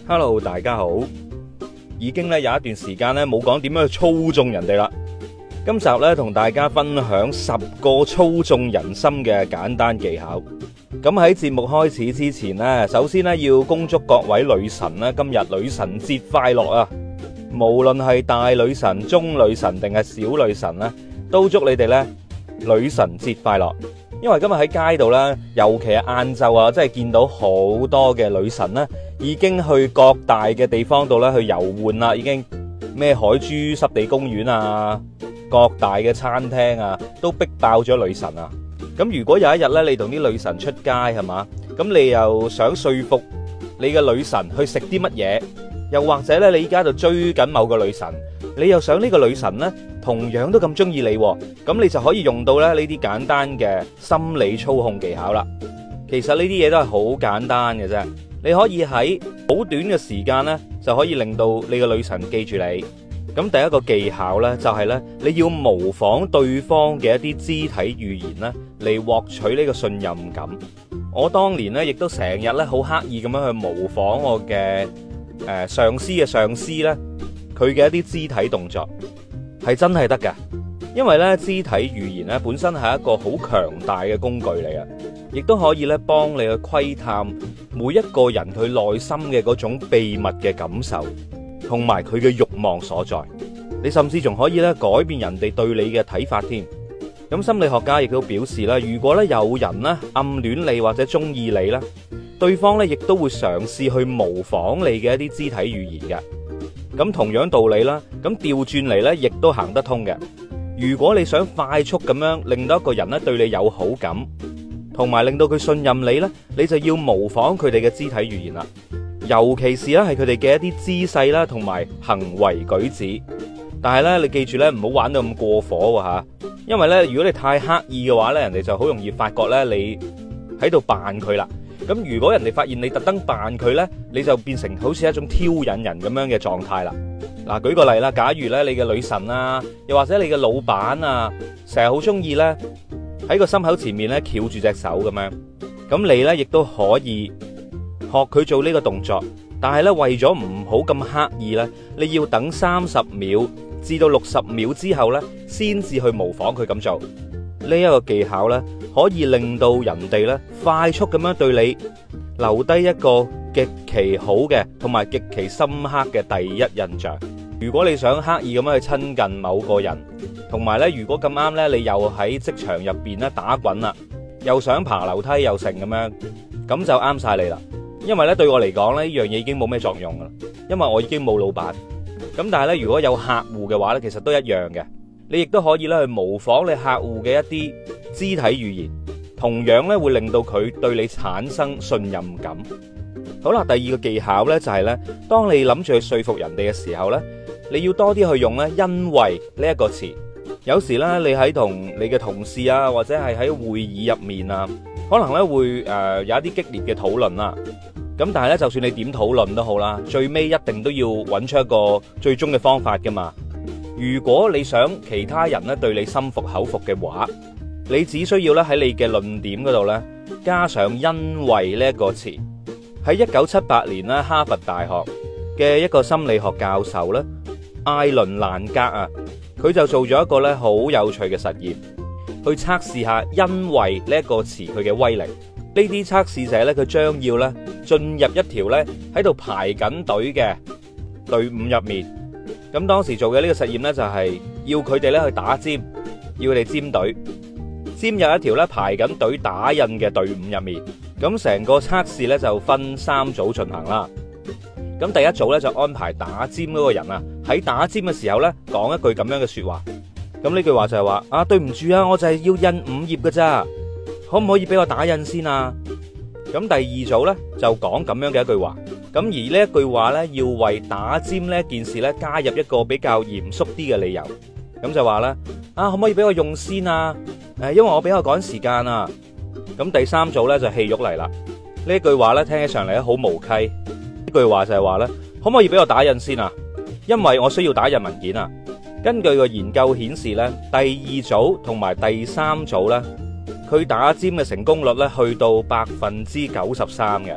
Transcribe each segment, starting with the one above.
Hello， 大家好。已經咧有一段時間咧冇講點樣去操縱人哋啦。今集咧同大家分享10個操縱人心嘅簡單技巧。咁喺節目開始之前呢，首先咧要恭祝各位女神咧今日女神節快樂啊！無論係大女神、中女神定係小女神咧，都祝你哋咧女神節快樂。因為今日喺街度咧，尤其係晏晝啊，真係見到好多嘅女神咧，已經去各大嘅地方度咧去遊玩啦，已經咩海珠濕地公園啊，各大嘅餐廳啊，都逼爆咗女神啊！咁如果有一日咧，你同啲女神出街係嘛，咁你又想說服你嘅女神去食啲乜嘢，又或者咧你依家就追緊某個女神，你又想呢個女神呢同樣都咁中意你，咁你就可以用到咧呢啲簡單嘅心理操控技巧啦。其實呢啲嘢都係好簡單嘅啫，你可以喺好短嘅時間呢就可以令到你嘅女神記住你。咁第一個技巧呢，就係呢：你要模仿對方嘅一啲肢體語言呢嚟獲取呢個信任感。我當年呢，亦都成日呢好刻意咁樣去模仿我嘅上司嘅上司呢，佢嘅一啲肢體動作係真係得㗎。因為呢，肢體語言呢本身係一個好強大嘅工具嚟嘅，亦都可以呢幫你去窺探每一個人佢內心嘅嗰種秘密嘅感受同埋佢嘅慾望所在。你甚至仲可以咧改變人哋對你嘅睇法添。咁心理學家亦都表示啦，如果咧有人咧暗戀你或者中意你咧，對方咧亦都會嘗試去模仿你嘅一啲肢體語言嘅。咁同樣道理啦，咁調轉嚟咧亦都行得通嘅。如果你想快速咁樣令到一個人咧對你有好感，同埋令到佢信任你咧，你就要模仿佢哋嘅肢體語言啦。尤其是咧係佢哋嘅一啲姿勢啦，同埋行為舉止。但係咧，你記住咧，唔好玩到咁過火喎吓，因為咧，如果你太刻意嘅話咧，人哋就好容易發覺咧你喺度扮佢啦。咁如果人哋發現你特登扮佢咧，你就變成好似一種挑引人咁樣嘅狀態啦。嗱，舉個例啦，假如咧你嘅女神啊，又或者你嘅老闆啊，成日好中意咧喺個心口前面咧翹住隻手咁樣，咁你咧亦都可以學佢做呢個動作，但係咧為咗唔好咁刻意咧，你要等30秒至到60秒之後咧，先至去模仿佢咁做。呢一個技巧咧，可以令到人哋咧快速咁樣對你留低一個極其好嘅同埋極其深刻嘅第一印象。如果你想刻意咁樣去親近某個人，同埋咧如果咁啱咧你又喺職場入邊咧打滾啦，又想爬樓梯又成咁樣，咁就啱晒你啦。因為咧對我嚟講咧呢樣嘢已經冇咩作用噶啦，因為我已經冇老闆。咁但係咧如果有客戶嘅話咧，其實都一樣嘅。你亦都可以咧去模仿你客戶嘅一啲肢體語言，同樣咧會令到佢對你產生信任感。好啦，第二個技巧咧就係咧，當你諗住去說服人哋嘅時候咧，你要多啲去用咧因為呢一個詞。有時咧你喺同你嘅同事啊，或者係喺會議入面啊，可能咧會有一啲激烈嘅討論啦。咁但係咧，就算你點討論都好啦，最尾一定都要揾出一個最終嘅方法噶嘛。如果你想其他人咧對你心服口服嘅話，你只需要咧喺你嘅論點嗰度咧加上因為呢一個詞。喺1978年咧，哈佛大學嘅一個心理學教授咧，艾倫蘭格啊，佢就做咗一個咧好有趣嘅實驗，去測試下因為呢一個詞佢嘅威力。呢啲測試者咧，佢將要咧進入一條咧喺度排緊隊嘅隊伍入面。咁當時做嘅呢個實驗咧，就係要佢哋咧去打尖，要佢哋尖隊，尖入一條咧排緊隊打印嘅隊伍入面。咁成個測試咧就分3組進行啦。咁第一組咧就安排打尖嗰個人啊，喺打尖嘅時候咧講一句咁樣嘅說話。咁呢句話就係話啊，對唔住啊，我就係要印5頁㗎咋，可唔可以俾我打印先啊？咁第二組咧就講咁樣嘅一句話。咁而呢一句話咧，要為打尖呢件事咧加入一個比較嚴肅啲嘅理由。咁就話咧啊，可唔可以俾我用先啊？因為我比較趕時間啊。咁第3組咧就戲肉嚟啦。呢句話咧聽起上嚟咧好無稽。呢句話就係話咧，可唔可以俾我打印先啊？因為我需要打印文件啊。根據個研究顯示咧，第2組同埋第3組咧，佢打尖嘅成功率咧去到93%嘅。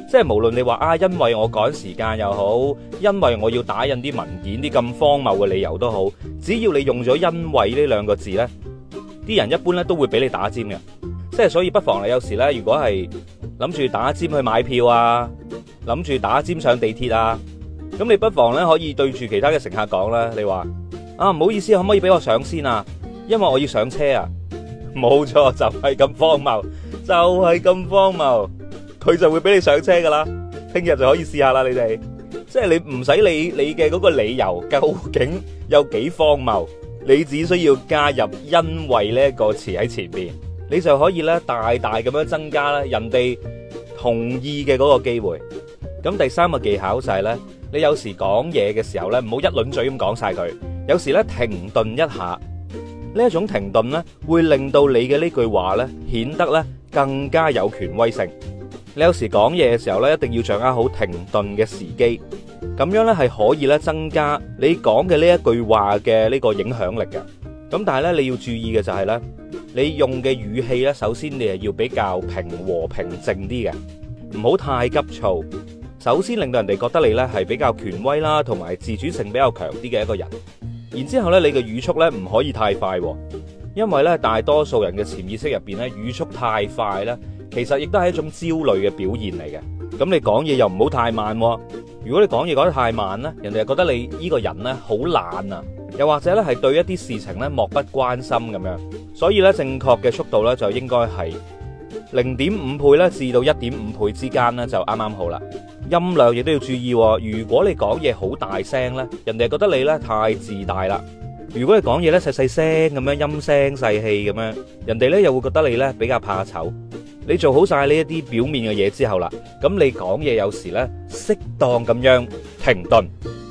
即係無論你話啊，因為我趕時間又好，因為我要打印啲文件，啲咁荒謬嘅理由都好，只要你用咗因為呢兩個字呢，啲人一般呢都會俾你打尖嘅。即係所以不妨你有時呢，如果係諗住打尖去買票啊，諗住打尖上地鐵啊，咁你不妨呢可以對住其他嘅乘客講啦，你話啊，唔好意思，可唔可以俾我上先啊？因為我要上車啊。冇錯，就係咁荒謬，就係咁荒謬，佢就會俾你上車噶啦。聽日就可以試下啦，你哋即係你唔使理你嘅嗰個理由究竟有幾荒謬，你只需要加入因為呢個詞喺前邊，你就可以咧大大咁樣增加咧人哋同意嘅嗰個機會。咁第三個技巧就係咧，你有時講嘢嘅時候咧，唔好一輪嘴咁講晒佢，有時咧停頓一下。呢一種停頓咧，會令到你嘅呢句話咧顯得咧更加有權威性。你有時講嘢嘅時候咧，一定要掌握好停頓嘅時機，咁樣咧係可以咧增加你講嘅呢一句話嘅呢個影響力嘅。咁但係咧你要注意嘅就係咧，你用嘅語氣咧，首先你係要比較平和平靜啲嘅，唔好太急躁。首先令到人哋覺得你咧係比較權威啦，同埋自主性比較強啲嘅一個人。然之後咧，你嘅語速咧唔可以太快，因為咧大多數人嘅潛意識入邊咧，語速太快咧，其實亦都係一種焦慮嘅表現嚟嘅。咁你講嘢又唔好太慢，如果你講嘢講得太慢咧，人哋就覺得你呢個人咧好懶啊，又或者咧係對一啲事情咧漠不關心咁樣。所以咧正確嘅速度咧就應該係0.5倍咧至到1.5倍之間咧就啱啱好啦。音量亦都要注意，如果你講嘢好大聲咧，人哋覺得你咧太自大啦；如果你講嘢咧細細聲咁樣，陰聲細氣咁樣，人哋咧又會覺得你咧比較怕醜。你做好晒呢一啲表面嘅嘢之後啦，咁你講嘢有時咧適當咁樣停頓，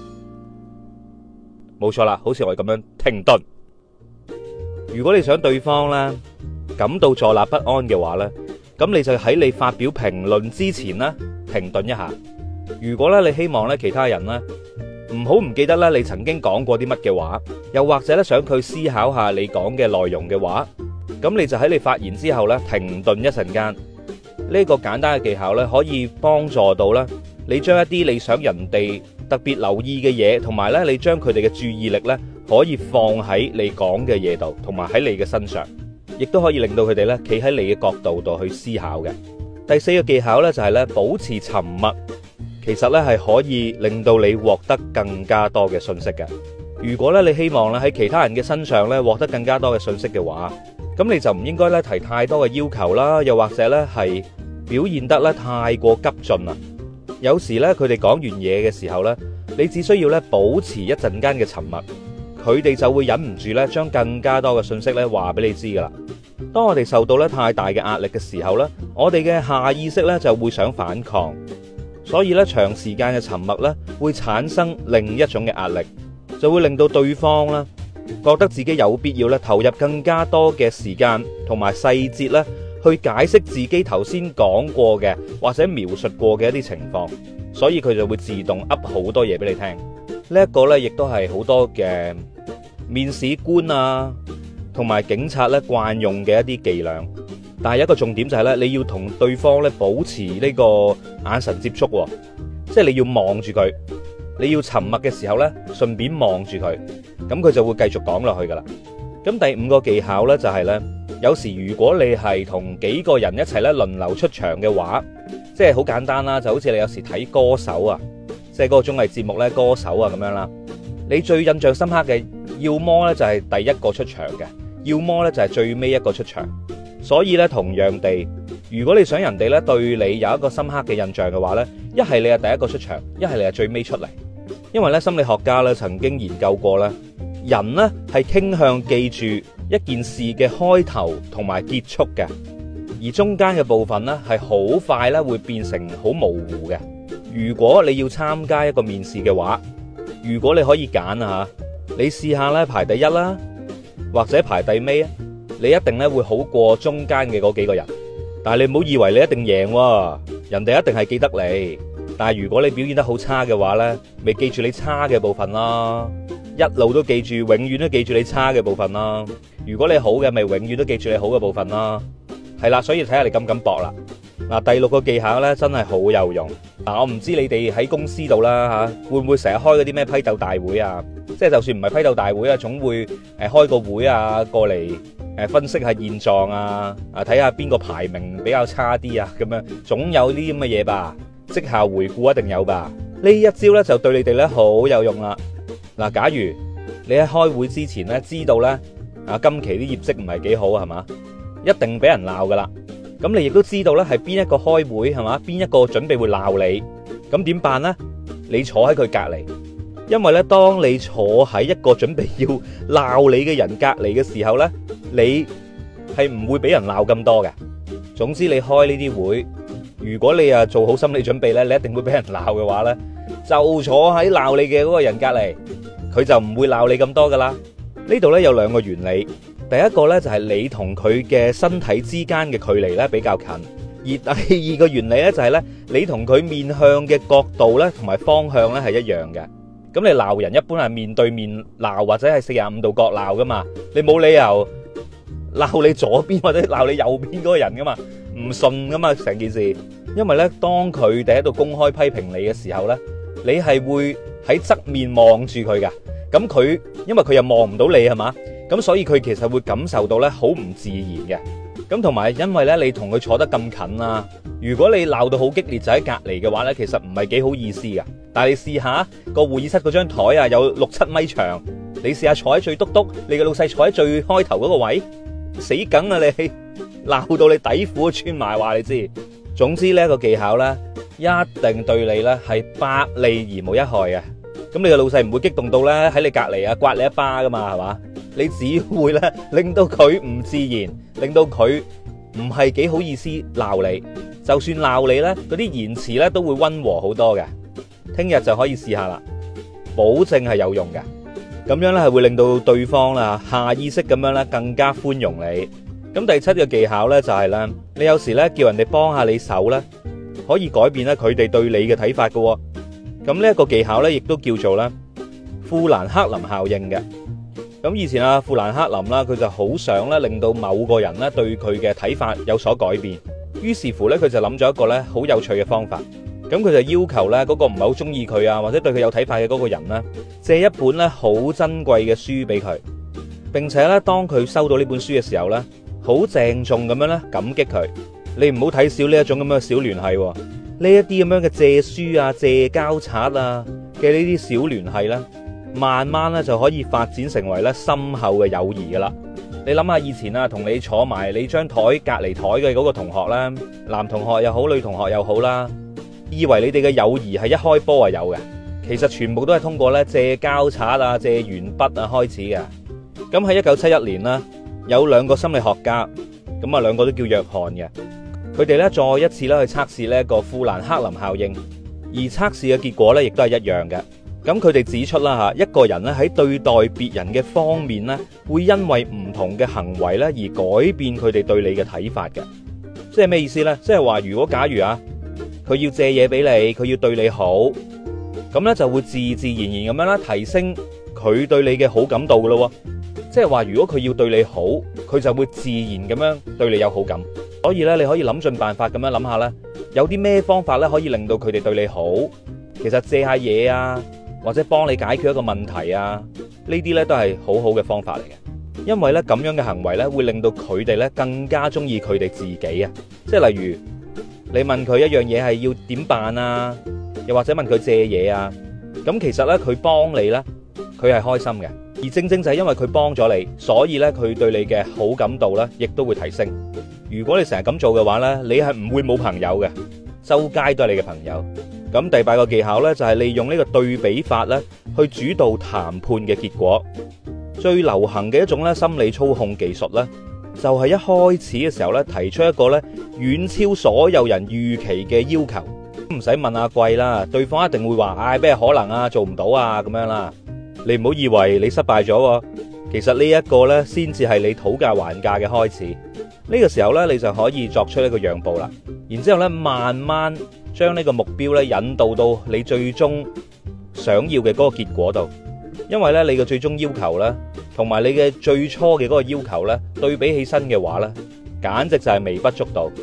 冇錯啦，好似我咁樣停頓。如果你想對方咧感到坐立不安嘅話咧，咁你就喺你發表評論之前咧停頓一下。如果咧你希望咧其他人咧唔記得咧你曾經講過啲乜嘅話，又或者咧想佢思考下你講嘅內容嘅話，咁你就喺你發言之後咧停頓一陣間。呢個簡單嘅技巧咧可以幫助到咧你將一啲你想人哋特別留意嘅嘢，同埋咧你將佢哋嘅注意力咧可以放喺你講嘅嘢度，同埋喺你嘅身上，亦都可以令到佢哋咧企喺你嘅角度度去思考嘅。第四個技巧咧就係咧保持沉默，其實咧係可以令到你獲得更加多嘅信息嘅。如果咧你希望咧喺其他人嘅身上咧獲得更加多嘅信息嘅話，咁你就唔應該咧提太多嘅要求啦，又或者咧係表現得咧太過急進啦。有時咧佢哋講完嘢嘅時候咧，你只需要咧保持一陣間嘅沉默，佢哋就會忍唔住咧將更加多嘅信息咧話俾你知噶啦。當我哋受到咧太大嘅壓力嘅時候咧，我哋嘅下意識咧就會想反抗，所以咧長時間嘅沉默咧會產生另一種嘅壓力，就會令到對方咧覺得自己有必要咧投入更加多嘅時間同埋細節咧去解釋自己頭先講過嘅或者描述過嘅一啲情況，所以佢就會自動噏好多嘢俾你聽。呢一個咧亦都係好多嘅面試官啊同埋警察咧慣用嘅一啲伎倆。但係一個重點就係咧，你要同對方咧保持呢個眼神接觸，即係你要望住佢，你要沉默嘅時候咧順便望住佢，咁佢就會繼續講落去噶啦。咁第五個技巧咧就係咧，有時如果你係同幾個人一齊咧輪流出場嘅話，即係好簡單啦，就好似你有時睇歌手啊，即係嗰個綜藝節目咧歌手啊咁樣啦，你最印象深刻嘅，要麼咧就係第一個出場嘅，要麼咧就係最尾一個出場。所以咧同樣地，如果你想人哋咧對你有一個深刻嘅印象嘅話咧，一係你係第一個出場，一係你係最尾出嚟。因為咧心理學家咧曾經研究過咧，人咧係傾向記住一件事嘅開頭同埋結束嘅，而中間嘅部分咧係好快咧會變成好模糊嘅。如果你要參加一個面試嘅話，如果你可以揀啊，你試下咧排第一啦，或者排第尾啊，你一定咧會好過中間嘅嗰幾個人。但係你唔好以為你一定贏喎，人哋一定係記得你。但係如果你表現得好差嘅話呢，咪記住你差嘅部分啦，一路都記住，永遠都記住你差嘅部分啦。如果你好嘅，咪永遠都記住你好嘅部分啦。係啦，所以睇下你敢唔敢搏啦。 嗱，第六個技巧咧真係好有用。嗱，我唔知你哋喺公司度啦嚇，會唔會成日開嗰啲咩批鬥大會啊？即係就算唔係批鬥大會啊，總會開個會啊，過嚟分析下現狀啊，睇下邊個排名比較差啲啊，咁樣總有呢啲咁嘅嘢吧？績效回顧一定有吧？呢一招咧就對你哋咧好有用啦。嗱，假如你喺開會之前咧知道咧今期啲業績唔係幾好係嘛，一定俾人鬧噶啦。咁你亦都知道咧係邊一個開會係嘛，邊一個準備會鬧你，咁點辦呢？你坐喺佢隔離，因為咧當你坐喺一個準備要鬧你嘅人隔離嘅時候咧，你係唔會俾人鬧咁多嘅。總之你開呢啲會，如果你做好心理準備咧，你一定會俾人鬧嘅話咧，就坐喺鬧你嘅嗰個人隔離，佢就唔會鬧你咁多噶啦。呢度咧有兩個原理。第一個咧就係你同佢嘅身體之間嘅距離咧比較近，而第二個原理咧就係咧你同佢面向嘅角度咧同埋方向咧係一樣嘅。咁你鬧人一般係面對面鬧或者係45度角鬧噶嘛，你冇理由鬧你左邊或者鬧你右邊嗰個人噶嘛，唔順噶嘛成件事。因為咧當佢哋喺度公開批評你嘅時候咧，你係會喺側面望住佢噶，咁佢因為佢又望唔到你係嘛，咁所以佢其實會感受到咧好唔自然嘅。咁同埋因為咧你同佢坐得咁近啊，如果你鬧到好激烈就喺隔離嘅話咧，其實唔係幾好意思噶。但係你試下個會議室嗰張台啊有6-7米長，你試下坐喺最篤篤，你嘅老細坐喺最開頭嗰個位，死梗啊你，鬧到你底褲都穿埋話你知。總之呢個技巧咧一定對你咧係百利而無一害嘅。咁你嘅老細唔會激動到咧喺你隔離刮你一巴噶嘛係嘛？你只會咧令到佢唔自然，令到佢唔係幾好意思鬧你。就算鬧你咧，嗰啲言辭咧都會溫和好多嘅。聽日就可以試下啦，保證係有用嘅。咁樣咧係會令到對方啦下意識咁樣咧更加寬容你。咁第7個技巧咧就係咧，你有時咧叫人哋幫下你手咧，可以改變咧佢哋對你嘅睇法嘅。咁呢一個技巧咧亦都叫做咧富蘭克林效應嘅。咁以前富蘭克林啦，佢就好想咧令到某個人咧對佢嘅睇法有所改變，於是乎咧佢就諗咗一個咧好有趣嘅方法。咁佢就要求咧嗰個唔係好中意佢啊或者對佢有睇法嘅嗰個人咧借一本咧好珍貴嘅書俾佢，並且咧當佢收到呢本書嘅時候咧好鄭重咁樣咧感激佢。你唔好睇少呢一種咁樣嘅小聯繫，呢一啲咁樣嘅借書啊借膠擦啊嘅呢啲小聯繫咧，慢慢咧就可以發展成為咧深厚嘅友誼噶啦。你諗下以前同你坐埋你張台隔離台嘅嗰個同學啦，男同學又好女同學又好啦，以為你哋嘅友誼係一開波有嘅，其實全部都係通過咧借膠擦啊借鉛筆啊開始嘅。咁喺1971年啦，有2個心理學家，咁2個都叫約翰嘅，佢哋咧再一次咧去測試呢一個富蘭克林效應，而測試嘅結果咧亦都係一樣嘅。咁佢哋指出啦吓，一個人咧喺對待別人嘅方面咧，會因為唔同嘅行為咧而改變佢哋對你嘅睇法嘅。即係咩意思咧？即係話如果假如佢要借嘢俾你，佢要對你好，咁咧就會自自然然咁樣啦提升佢對你嘅好感度噶咯。即係話如果佢要對你好，佢就會自然咁樣對你有好感。所以咧你可以諗盡辦法咁樣諗下咧，有啲咩方法咧可以令到佢哋對你好。其實借下嘢啊，或者幫你解決一個問題啊，呢啲咧都係好好嘅方法嚟嘅。因為咧咁樣嘅行為咧會令到佢哋咧更加中意佢哋自己啊。即係例如你問佢一樣嘢係要點辦啊，又或者問佢借嘢啊，咁其實咧佢幫你咧佢係開心嘅，而正正就係因為佢幫咗你，所以咧佢對你嘅好感度咧亦都會提升。如果你成日咁做嘅話咧，你係唔會冇朋友嘅，周街都係你嘅朋友。咁第8個技巧咧就係利用呢個對比法咧去主導談判嘅結果。最流行嘅一種咧心理操控技術咧，就係一開始嘅時候咧提出一個咧遠超所有人預期嘅要求，唔使問阿貴啦，對方一定會話咩可能啊，做唔到啊咁樣啦。你唔好以為你失敗咗，其實呢一個咧先至係你討價還價嘅開始。呢個時候咧你就可以作出一個讓步啦，然之後咧慢慢將呢個目標咧引導到你最終想要嘅嗰個結果度。因為咧你嘅最終要求咧同埋你嘅最初嘅嗰個要求咧對比起身嘅話咧，簡直就係微不足道。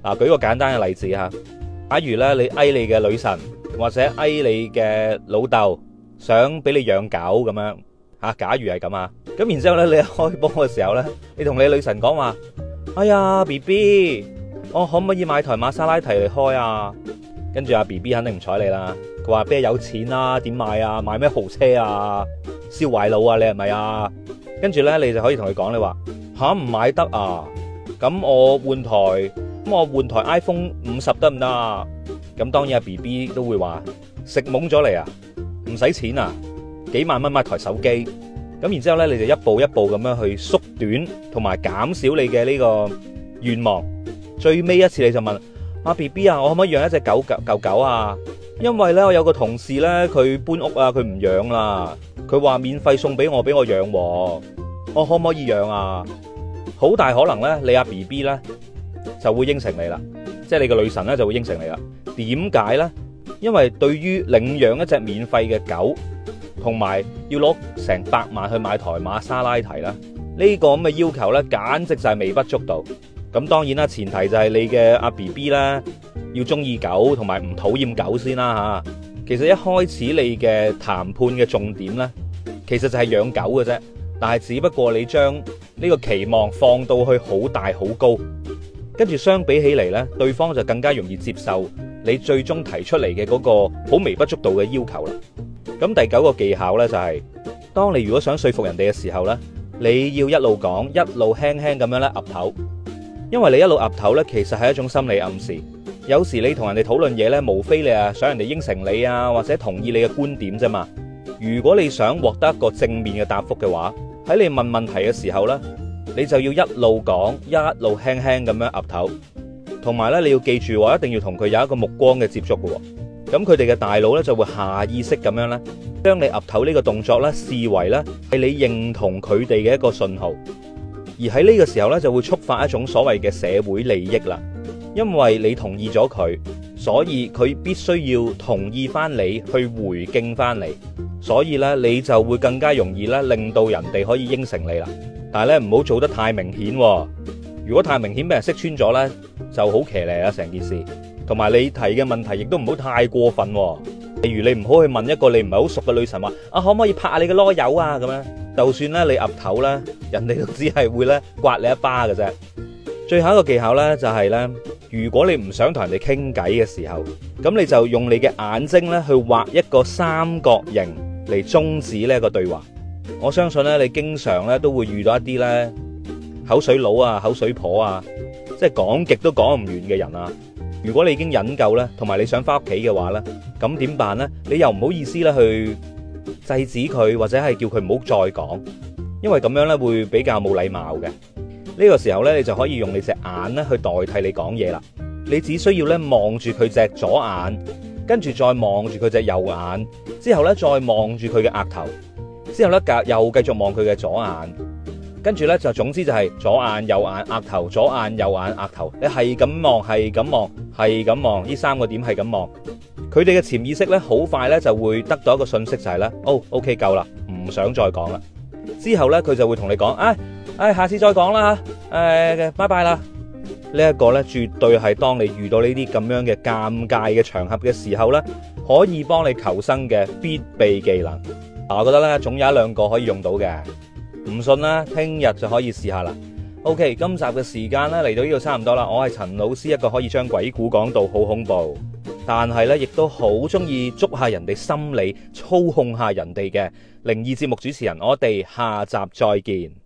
舉個簡單嘅例子吓，假如咧你嗌你嘅女神或者嗌你嘅老豆想俾你養狗咁樣吓，假如係咁啊，咁然之後咧你一開波嘅時候咧，你同你女神講話，哎呀 BB， 我可唔可以買台瑪莎拉蒂嚟開啊？跟住阿 BB 肯定唔睬你啦，佢話邊有錢啊，點買啊，買咩豪車啊，燒壞腦啊，你係咪啊？跟住咧你就可以同佢講，你話吓唔買得啊？咁我換台 iPhone 50得唔得啊？咁當然阿 BB 都會話食懵咗嚟啊，唔使錢啊，幾萬蚊買台手機。咁然之後咧你就一步一步咁樣去縮短同埋減少你嘅呢個願望。最尾一次你就問阿 BB 啊，我可唔可以養一隻狗啊？因為咧我有個同事咧佢搬屋啊，佢唔養啦，佢話免費送俾我養，我可唔可以養啊？好大可能咧你阿 BB 咧就會應承你啦，即係你個女神咧就會應承你啦。點解咧？因為對於領養一隻免費嘅狗，同埋要攞成100萬去買台瑪莎拉蒂啦，呢個咁嘅要求咧，簡直就係微不足道。咁當然啦，前提就係你嘅阿 BB 咧要中意狗，同埋唔討厭狗先啦吓。其實一開始你嘅談判嘅重點咧，其實就係養狗嘅啫，但係只不過你將呢個期望放到去好大好高，跟住相比起嚟咧，對方就更加容易接受你最終提出嚟嘅嗰個好微不足道嘅要求啦。咁第9個技巧咧就係，當你如果想說服人哋嘅時候咧，你要一路講，一路輕輕咁樣咧岌頭，因為你一路岌頭咧，其實係一種心理暗示。有時你同人哋討論嘢咧，無非你啊想人哋應承你啊，或者同意你嘅觀點啫嘛。如果你想獲得一個正面嘅答覆嘅話，喺你問問題嘅時候咧，你就要一路講，一路輕輕咁樣岌頭，同埋咧你要記住一定要同佢有一個目光嘅接觸嘅。咁佢哋嘅大腦咧就會下意識咁樣咧，將你岌頭呢個動作咧視為咧係你認同佢哋嘅一個信號，而喺呢個時候咧就會觸發一種所謂嘅社會利益啦。因為你同意咗佢，所以佢必須要同意翻你去回敬翻你，所以咧你就會更加容易咧令到人哋可以應承你啦。但係咧唔好做得太明顯，如果太明顯俾人識穿咗咧，就好騎呢啊成件事。同埋你提嘅問題亦都唔好太過分，例如你唔好去問一個你唔係好熟嘅女神話啊，可唔可以拍下你嘅囉柚啊咁樣，就算咧你岌頭咧，人哋都只係會咧刮你一巴嘅啫。最後一個技巧咧就係咧，如果你唔想同人哋傾偈嘅時候，咁你就用你嘅眼睛咧去畫一個三角形嚟終止呢一個對話。我相信咧你經常咧都會遇到一啲咧口水佬啊、口水婆啊，即係講極都講唔完嘅人啊。如果你已經忍夠咧，同埋你想翻屋企嘅話咧，咁點辦咧？你又唔好意思咧去制止佢，或者係叫佢唔好再講，因為咁樣咧會比較冇禮貌嘅。呢個時候咧，你就可以用你隻眼咧去代替你講嘢啦。你只需要咧望住佢隻左眼，跟住再望住佢隻右眼，之後咧再望住佢嘅額頭，之後咧又繼續望佢嘅左眼，跟住咧就總之就係左眼右眼額頭，左眼右眼額頭，你係咁望，係咁望，係咁望，呢3個點係咁望。佢哋嘅潛意識咧好快咧就會得到一個信息，就係咧OK 夠啦，唔想再講啦。之後咧佢就會同你講，下次再講啦，拜拜啦。呢一個咧絕對係當你遇到呢啲咁樣嘅尷尬嘅場合嘅時候咧，可以幫你求生嘅必備技能。我覺得咧總有1-2個可以用到嘅，唔信啦，聽日就可以試下啦。OK， 今集嘅時間咧嚟到呢度差唔多啦。我係陳老師，一個可以將鬼故講到好恐怖，但係咧亦都好中意捉下人哋心理、操控下人哋嘅靈異節目主持人。我哋下集再見。